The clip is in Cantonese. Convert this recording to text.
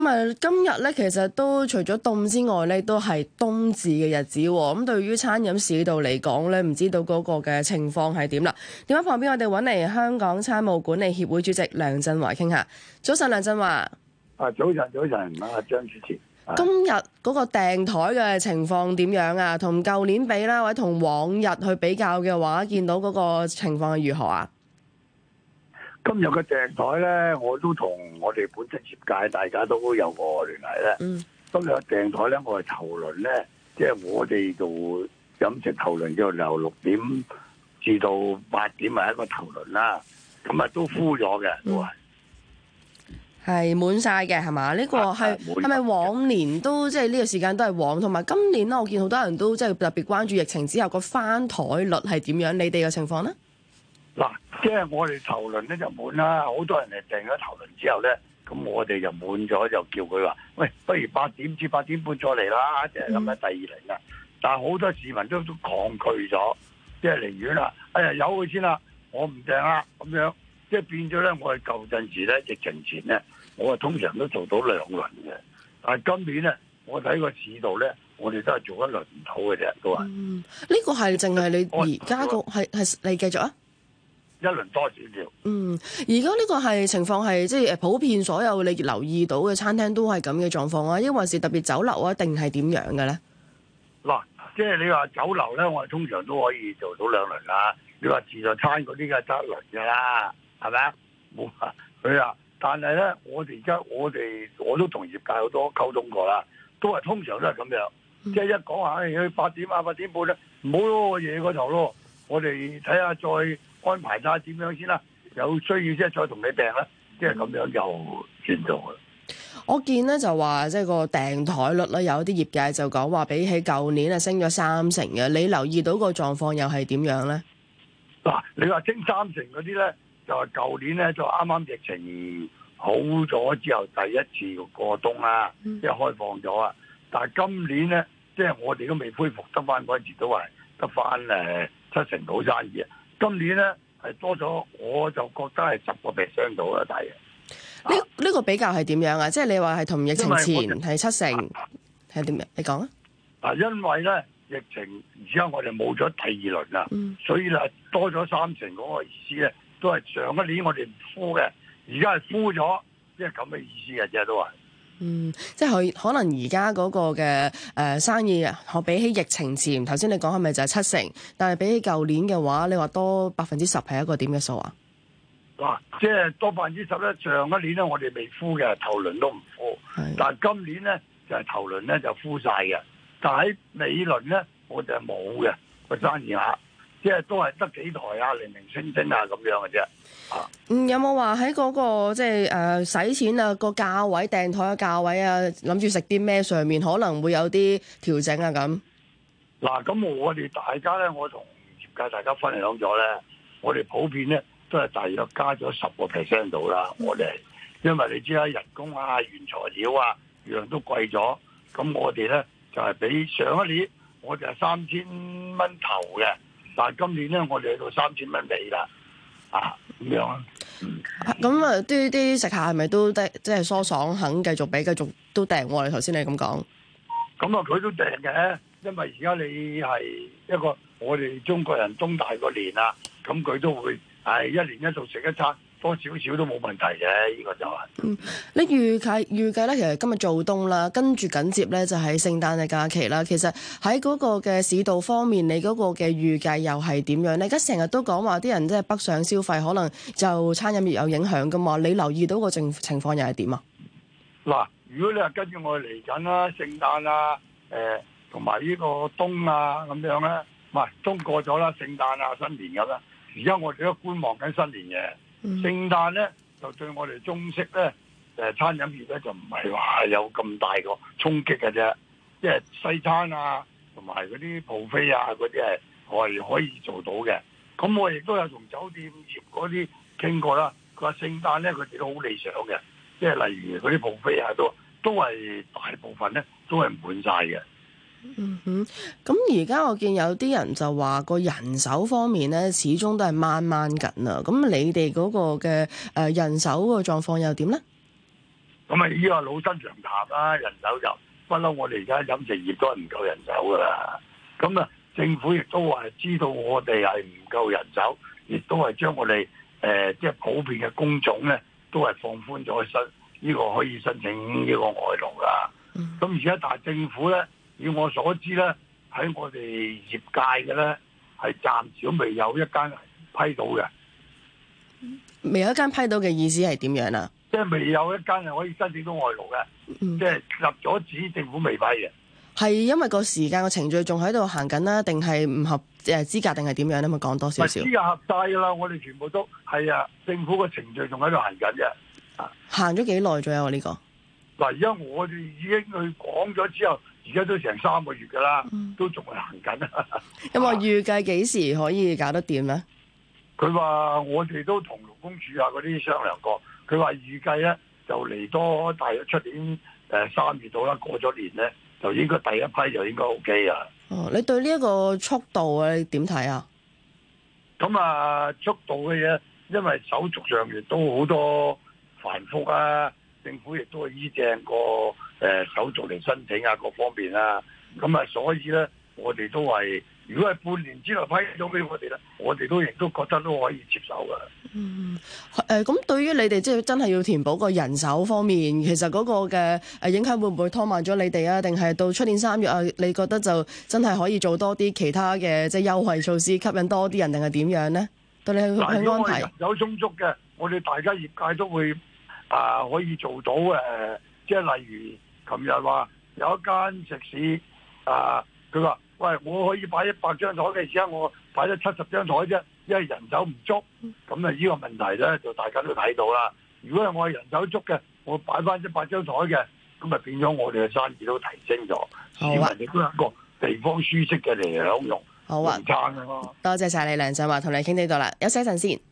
今日咧，其實都除咗凍之外咧，都係冬至嘅日子喎。咁對於餐飲市道嚟講咧，唔知道嗰個嘅情況係點啦？電話旁邊我哋揾嚟香港餐務管理協會主席梁振華傾下。早晨，梁振華。 早晨，張主持。 今日嗰個訂台嘅情況點樣啊？同舊年比啦，或者同往日去比較嘅話，見到嗰個情況係如何啊？ 今日嘅訂台咧，我都同我哋本身業界大家都有個聯繫咧。今日嘅訂台咧，我係頭輪咧，即係我哋做飲食頭輪，就由6點至到8點係一個頭輪啦。咁啊都敷咗嘅，都係滿晒嘅，係嘛？呢個係咪往年都即係呢個時間都係旺？同埋今年咧，我見好多人都即係特別關注疫情之後個翻台率係點樣？你哋嘅情況咧？ 嗱，即係我哋頭輪咧就滿啦，好多人係訂咗頭輪之後咧，咁我哋就滿咗，就叫佢話：喂，不如8點至8點半再嚟啦，就係咁樣第二輪啦。但係好多市民都抗拒咗，即係寧願啦，哎呀由佢先啦，我唔訂啦咁樣，即係變咗咧。我哋舊陣時咧，疫情前咧，我通常都做到2輪嘅，但係今年咧，我睇個市道咧，我哋都係做1輪唔到嘅啫，都話。 呢個係淨係你而家個係你繼續啊？ 1輪多少少。 而家呢個係情況係即係普遍所有你留意到嘅餐廳都係咁嘅狀況啊？抑或是特別酒樓啊，定係點樣嘅咧？ 嗱，即係你話酒樓咧，我哋通常都可以做到2輪啦。你話自助餐嗰啲嘅得1輪㗎啦，係咪啊？冇話佢啊，但係咧，我哋而家我都同業界好多溝通過啦，都係通常都係咁樣，即係一講話去8點啊8點半咧，唔好咯，夜嗰頭咯，我哋睇下再安排晒點樣先啦，有需要即係再同你訂啦，即係咁樣就算咗啦。 我見咧就話即係個訂台率咧，有啲業界就講話比起舊年啊升咗30%嘅。你留意到個狀況又係點樣咧？ 嗱，你話升30%嗰啲咧，就係舊年咧就啱啱疫情好咗之後第一次過冬啦，即係開放咗啊。但係今年咧，即係我哋都未恢復得翻嗰陣時，都係得翻7成到生意啊。今年咧係多咗，我就覺得係10% 到啦，大約。 呢個比較係點樣啊？即係你話係同疫情前係7成，係點樣？你講啊！ 因為咧疫情而家我哋冇咗第2輪啦，所以咧多咗3成嗰個意思咧，都係上一年我哋唔敷嘅，而家係敷咗，即係咁嘅意思嘅啫，都係。 即係佢可能而家嗰個嘅生意，我比起疫情前，頭先你講係咪就係7成？但係比起舊年嘅話，你話多10%係一個點嘅數啊？ 嗱，即係多10%咧，上一年咧我哋未敷嘅，頭輪都唔敷，但係今年咧就係頭輪咧就敷晒嘅，但係喺尾輪咧我就係冇嘅個生意額，即係都係得幾台啊，零零星星啊咁樣嘅啫。 有冇話喺嗰個即係使錢啊個價位訂台嘅價位啊，諗住食啲咩上面可能會有啲調整啊咁？ 嗱，咁我哋大家咧，我同業界大家分享咗咧，我哋普遍咧都係大約加咗10% 到啦。我哋因為你知啦，人工啊、原材料啊樣都貴咗，咁我哋咧就係比上一年我哋係3000蚊頭嘅，但係今年咧我哋去到3000蚊尾啦。咁樣啊？ 咁啊，啲食客係咪都即係疏爽，肯繼續俾，繼續都訂喎？你頭先你咁講， 咁啊，佢都訂嘅，因為而家你係一個我哋中國人冬大過年啦，咁佢都會係一年一度食一餐，多少少都冇問題嘅，呢個就係。 你預計咧，其實今日做冬啦，跟住緊接咧就係聖誕嘅假期啦。其實喺嗰個嘅市道方面，你嗰個嘅預計又係點樣咧？而家成日都講話啲人即係北上消費，可能就餐飲業有影響噶嘛？你留意到個情況又係點啊？ 嗱，如果你話跟住我哋嚟緊啦，聖誕啊，同埋呢個冬啊咁樣咧，唔係冬過咗啦，聖誕啊新年咁啦，而家我哋都觀望緊新年嘅。聖誕咧就對我哋中式咧餐飲業咧就唔係話有咁大個衝擊嘅啫，即係西餐啊同埋嗰啲buffet啊嗰啲係我係可以做到嘅。咁我亦都有同酒店業嗰啲傾過啦，佢話聖誕咧佢哋都好理想嘅，即係例如嗰啲buffet啊都係大部分咧都係滿晒嘅。 咁而家我見有啲人就話個人手方面咧，始終都係掹緊啊。咁你哋嗰個嘅人手個狀況又點咧？ 咁啊呢個老生常談啦，人手就不嬲，我哋而家飲食業都係唔夠人手噶啦。咁啊，政府亦都話知道我哋係唔夠人手，亦都係將我哋即係普遍嘅工種咧，都係放寬咗呢個可以申請呢個外勞噶。咁而家但係政府咧，以我所知咧，喺我哋業界嘅咧，係暫時都未有一間批到嘅。 未有一間批到嘅意思係點樣啊？ 即係未有一間係可以申請到外勞嘅，即係入咗紙，政府未批嘅。 係因為個時間個程序仲喺度行緊啦，定係唔合資格，定係點樣咧？咪講多少少？ 資格合晒噶啦，我哋全部都係啊，政府個程序仲喺度行緊嘅。 行咗幾耐左右啊？呢個嗱，而家我哋已經去講咗之後，而家都成3個月噶啦，都仲係行緊啊。 有冇預計幾時可以搞得掂咧？ 佢話我哋都同勞工處啊嗰啲商量過，佢話預計咧就嚟多大約出年3月到啦，過咗年咧就應該第一批就應該 OK 啊。 哦，你對呢一個速度啊，你點睇啊？ 咁啊，速度嘅嘢，因為手續上亦都好多繁複啊，政府亦都係依正個手續嚟申請啊，各方面啊，咁啊，所以咧我哋都係。如果係半年之內批咗俾我哋咧，我哋都亦都覺得都可以接受㗎。 咁對於你哋即係真係要填補個人手方面，其實嗰個嘅影響會唔會拖慢咗你哋啊？定係到出年3月啊？你覺得就真係可以做多啲其他嘅即係優惠措施，吸引多啲人，定係點樣咧？對你去安排。 人手充足嘅，我哋大家業界都會可以做到即係例如琴日話有一間食肆佢話。喂，我可以擺100張台嘅，而家我擺咗70張台啫，因為人手唔足。咁啊，呢個問題咧就大家都睇到啦。如果係我係人手足嘅，我擺翻100張台嘅，咁啊變咗我哋嘅生意都提升咗，市民亦都有一個地方舒適嘅嚟享用。 好啊，多謝晒你梁振華，同你傾呢度啦，休息一陣先。